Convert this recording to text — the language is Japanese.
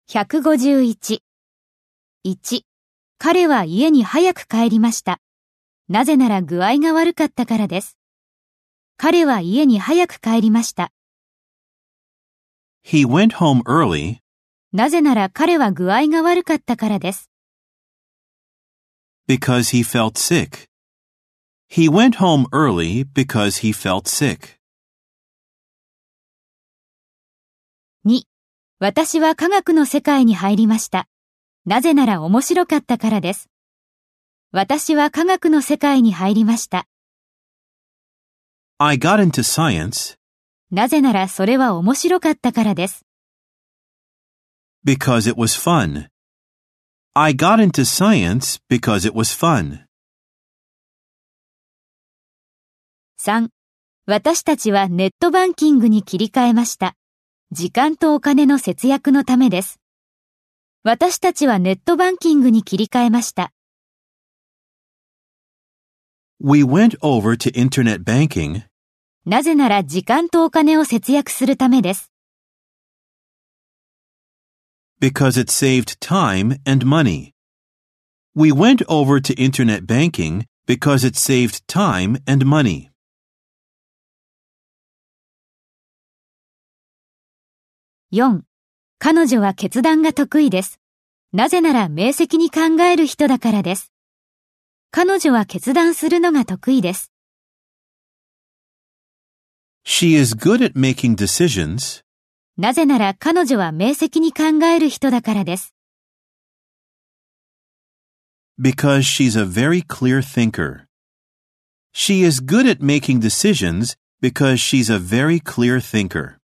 151。1、彼は家に早く帰りました。なぜなら具合が悪かったからです。彼は家に早く帰りました。 He went home early なぜなら彼は具合が悪かったからです。 because he felt sick. He went home early because he felt sick. 2、私は科学の世界に入りました。なぜなら面白かったからです。私は科学の世界に入りました。 I got into science なぜならそれは面白かったからです。 because it was fun. I got into science because it was fun. 3、私たちはネットバンキングに切り替えました。時間とお金の節約のためです。私たちはネットバンキングに切り替えました。 We went over to internet banking なぜなら時間とお金を節約するためです。 because it saved time and money. We went over to internet banking because it saved time and money. 4、彼女は決断が得意です。なぜなら明晰に考える人だからです。彼女は決断するのが得意です。 She is good at making decisions なぜなら彼女は明晰に考える人だからです。 because she's a very clear thinker. She is good at making decisions because she's a very clear thinker.